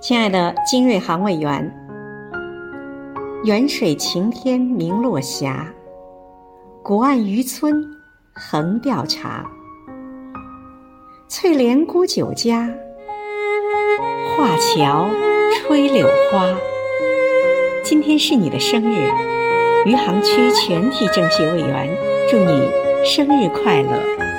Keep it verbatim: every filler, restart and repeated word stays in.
亲爱的金瑞航委员，远水晴天明落霞，古岸渔村横钓茶。翠莲沽酒家，画桥吹柳花。今天是你的生日，余杭区全体政协委员祝你生日快乐。